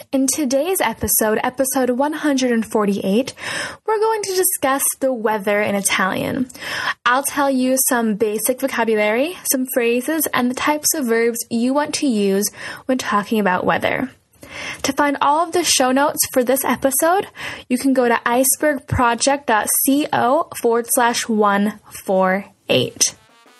In today's episode 148, we're going to discuss the weather in Italian. I'll tell you some basic vocabulary, some phrases, and the types of verbs you want to use when talking about weather. To find all of the show notes for this episode, you can go to icebergproject.co/148.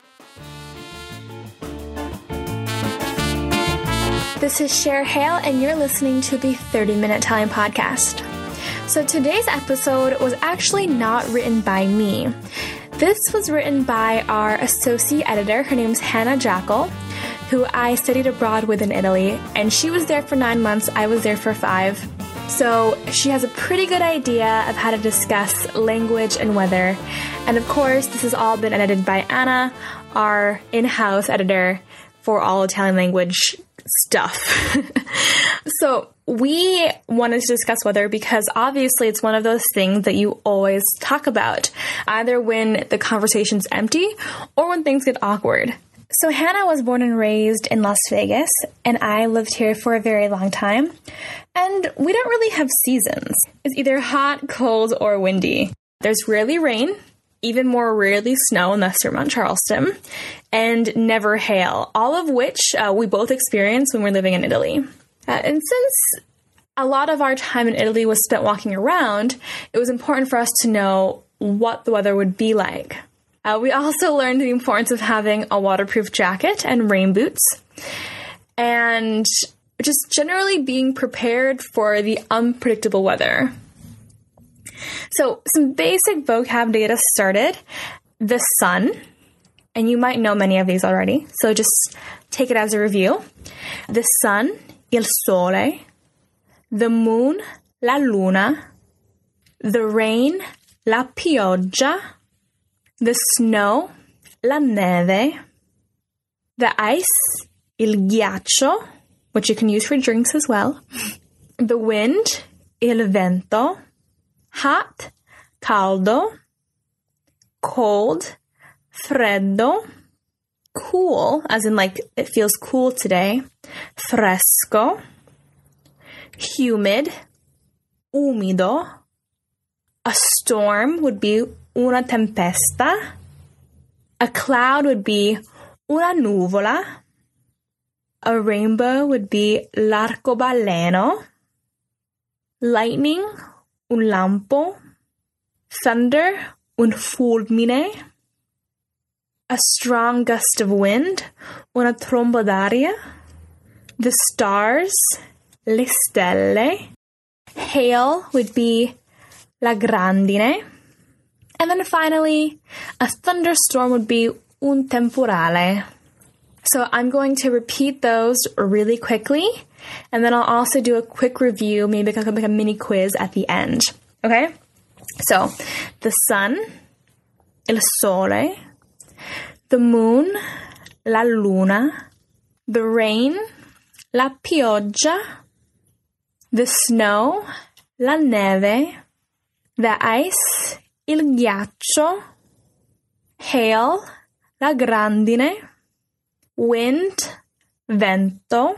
This is Cher Hale, and you're listening to the 30-Minute Italian Podcast. So today's episode was actually not written by me. This was written by our associate editor. Her name's Hannah Jackal, who I studied abroad with in Italy, and she was there for 9 months. I was there for 5. So she has a pretty good idea of how to discuss language and weather. And of course, this has all been edited by Anna, our in-house editor for all Italian language stuff. So we wanted to discuss weather because obviously it's one of those things that you always talk about, either when the conversation's empty or when things get awkward. So Hannah was born and raised in Las Vegas, and I lived here for a very long time. And we don't really have seasons. It's either hot, cold, or windy. There's rarely rain, even more rarely snow unless you're Mount Charleston, and never hail, all of which we both experienced when we're living in Italy. And since a lot of our time in Italy was spent walking around, it was important for us to know what the weather would be like. We also learned the importance of having a waterproof jacket and rain boots, and just generally being prepared for the unpredictable weather. So some basic vocab to get us started. The sun, and you might know many of these already, so just take it as a review. The sun, il sole. The moon, la luna. The rain, la pioggia. The snow, la neve. The ice, il ghiaccio, which you can use for drinks as well. The wind, il vento. Hot, caldo. Cold, freddo. Cool, as in like it feels cool today. Fresco. Humid, umido. A storm would be una tempesta. A cloud would be una nuvola. A rainbow would be l'arcobaleno. Lightning, un lampo. Thunder, un fulmine. A strong gust of wind, una tromba d'aria. The stars, le stelle. Hail would be la grandine. And then finally, a thunderstorm would be un temporale. So I'm going to repeat those really quickly, and then I'll also do a quick review, maybe like a mini quiz at the end. Okay? So, the sun, il sole. The moon, la luna. The rain, la pioggia. The snow, la neve. The ice, il ghiaccio. Hail, la grandine. Wind, vento.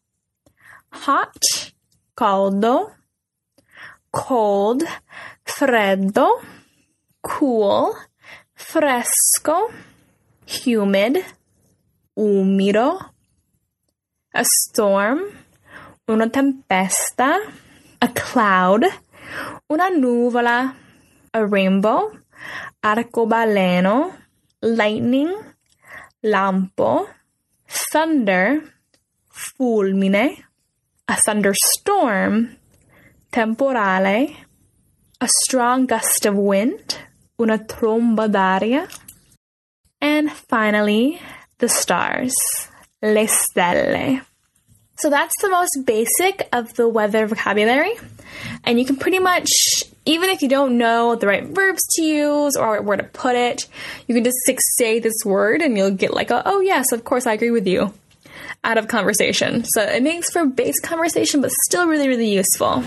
Hot, caldo. Cold, freddo. Cool, fresco. Humid, umido. A storm, una tempesta. A cloud, una nuvola. A rainbow, arcobaleno. Lightning, lampo. Thunder, fulmine. A thunderstorm, temporale. A strong gust of wind, una tromba d'aria. And finally, the stars, le stelle. So that's the most basic of the weather vocabulary. And you can pretty much, even if you don't know the right verbs to use or where to put it, you can just say this word and you'll get like, oh yes, of course I agree with you, out of conversation. So it makes for base conversation, but still really, really useful.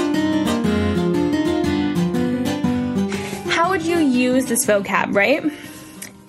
How would you use this vocab, right?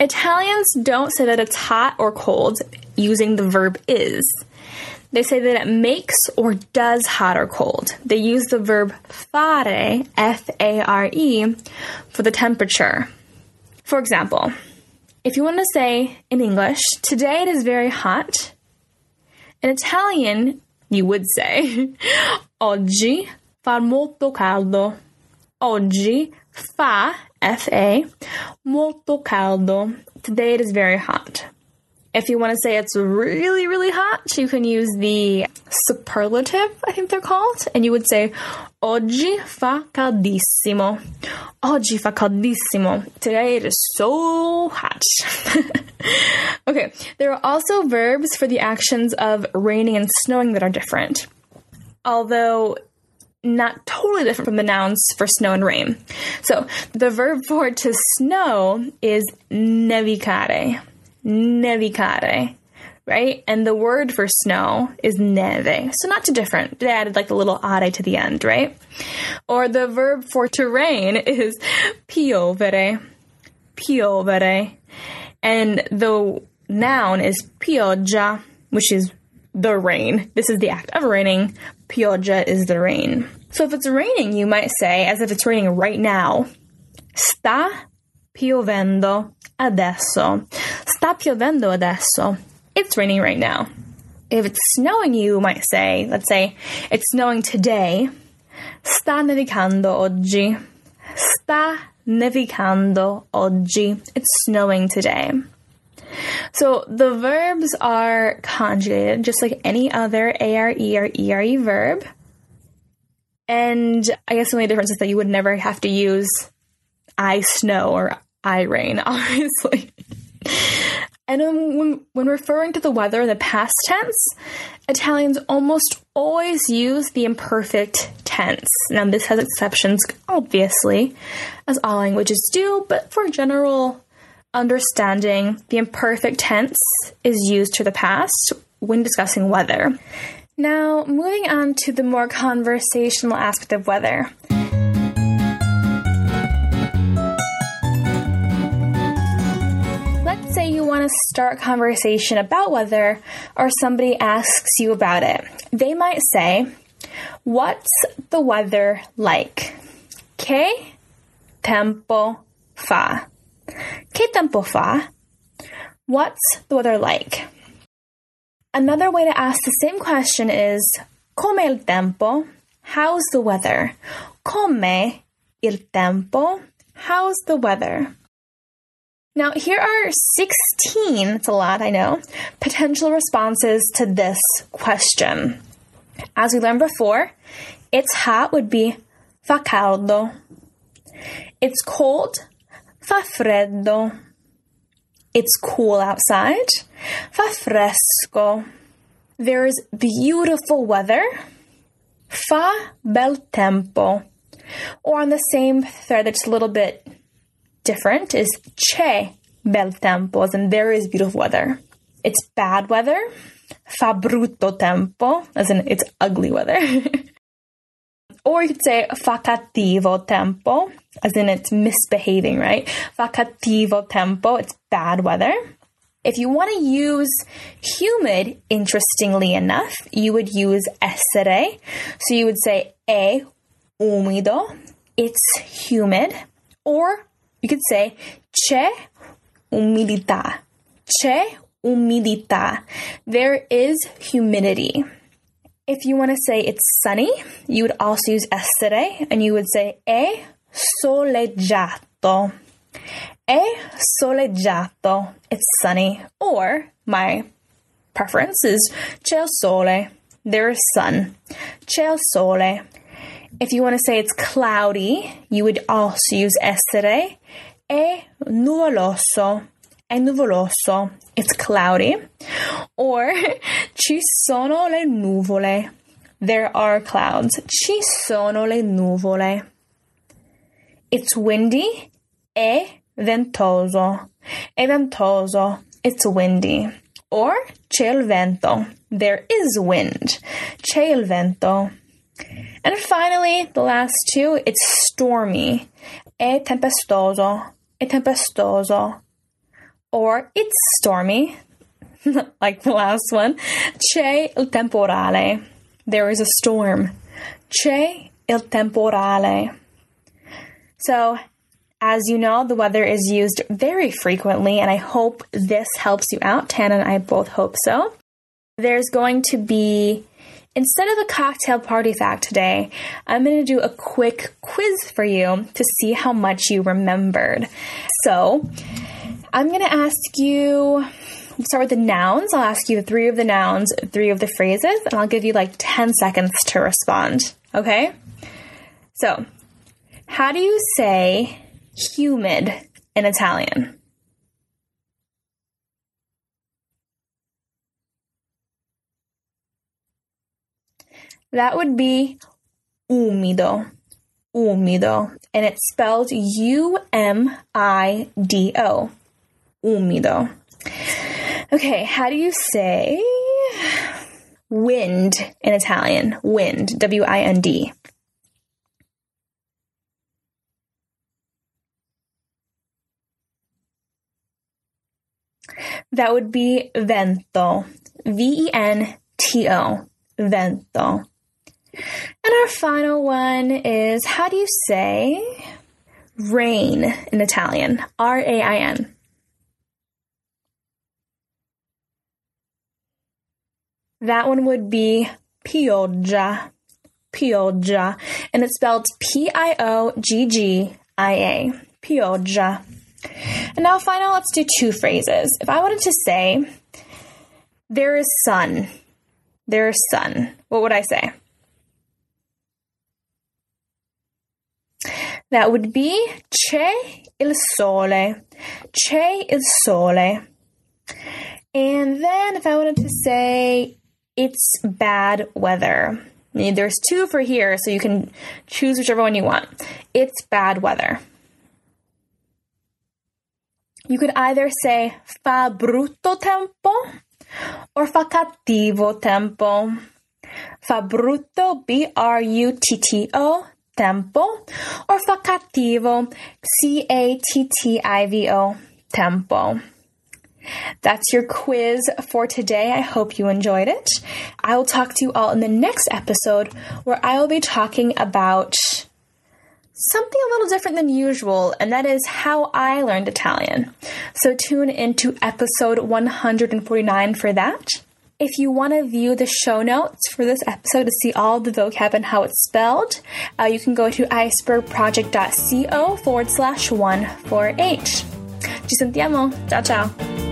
Italians don't say that it's hot or cold using the verb is. They say that it makes or does hot or cold. They use the verb fare, F-A-R-E, for the temperature. For example, if you want to say in English, today it is very hot, in Italian, you would say, oggi fa molto caldo. Oggi fa, F-A, molto caldo. Today it is very hot. If you want to say it's really, really hot, you can use the superlative, I think they're called, and you would say, oggi fa caldissimo. Oggi fa caldissimo. Today it is so hot. Okay, there are also verbs for the actions of raining and snowing that are different, although not totally different from the nouns for snow and rain. So the verb for to snow is nevicare. Nevicare, right? And the word for snow is neve. So not too different. They added like a little are to the end, right? Or the verb for to rain is piovere. Piovere. And the noun is pioggia, which is the rain. This is the act of raining. Pioggia is the rain. So if it's raining, you might say, as if it's raining right now, sta piovendo adesso. Sta piovendo adesso. It's raining right now. If it's snowing, you might say, let's say, it's snowing today. Sta nevicando oggi. Sta nevicando oggi. It's snowing today. So the verbs are conjugated just like any other A-R-E or E-R-E verb. And I guess the only difference is that you would never have to use I snow or I rain, obviously. And when referring to the weather in the past tense, Italians almost always use the imperfect tense. Now, this has exceptions, obviously, as all languages do, but for general understanding, the imperfect tense is used to the past when discussing weather. Now, moving on to the more conversational aspect of weather. Let's say you want to start a conversation about weather, or somebody asks you about it. They might say, "What's the weather like?" Che tempo fa? Che tempo fa? What's the weather like? Another way to ask the same question is, "Com'è il tempo?" How's the weather? Com'è il tempo? How's the weather? Now, here are 16, it's a lot, I know, potential responses to this question. As we learned before, it's hot would be fa caldo. It's cold, fa freddo. It's cool outside, fa fresco. There's beautiful weather, fa bel tempo. Or on the same thread that's a little bit different is c'è bel tempo, as in there is beautiful weather. It's bad weather, fa brutto tempo, as in it's ugly weather. Or you could say fa cattivo tempo, as in it's misbehaving, right? Fa cattivo tempo, it's bad weather. If you want to use humid, interestingly enough, you would use essere. So you would say è umido, it's humid. Or you could say c'è umidità. C'è umidità. There is humidity. If you want to say it's sunny, you would also use essere, and you would say è soleggiato. È soleggiato. It's sunny. Or, my preference is c'è il sole. There is sun. C'è il sole. If you want to say it's cloudy, you would also use essere. È nuvoloso. È nuvoloso. It's cloudy. Or, ci sono le nuvole. There are clouds. Ci sono le nuvole. It's windy. È ventoso. È ventoso. It's windy. Or, c'è il vento. There is wind. C'è il vento. And finally, the last two, it's stormy. È tempestoso. È tempestoso. or it's stormy, like the last one. C'è il temporale. There is a storm. C'è il temporale. So, as you know, the weather is used very frequently, and I hope this helps you out. Tana and I both hope so. There's going to be, instead of a cocktail party fact today, I'm going to do a quick quiz for you to see how much you remembered. So, I'm going to ask you, we'll start with the nouns. I'll ask you 3 of the nouns, 3 of the phrases, and I'll give you like 10 seconds to respond. Okay? So, how do you say humid in Italian? That would be umido. Umido. And it's spelled U-M-I-D-O. Umido. Okay, how do you say wind in Italian? Wind. W-I-N-D. That would be vento. V-E-N-T-O. Vento. And our final one is, how do you say rain in Italian? R-A-I-N. That one would be pioggia. Pioggia. And it's spelled P-I-O-G-G-I-A. Pioggia. And now finally, let's do 2 phrases. If I wanted to say, there is sun. There is sun. What would I say? That would be c'è il sole. C'è il sole. And then if I wanted to say it's bad weather. There's 2 for here, so you can choose whichever one you want. It's bad weather. You could either say fa brutto tempo or fa cattivo tempo. Fa brutto, B-R-U-T-T-O, tempo, or fa cattivo, C-A-T-T-I-V-O, tempo. That's your quiz for today. I hope you enjoyed it. I will talk to you all in the next episode where I will be talking about something a little different than usual, and that is how I learned Italian. So tune into episode 149 for that. If you want to view the show notes for this episode to see all the vocab and how it's spelled, you can go to icebergproject.co/148. Ci sentiamo. Ciao, ciao.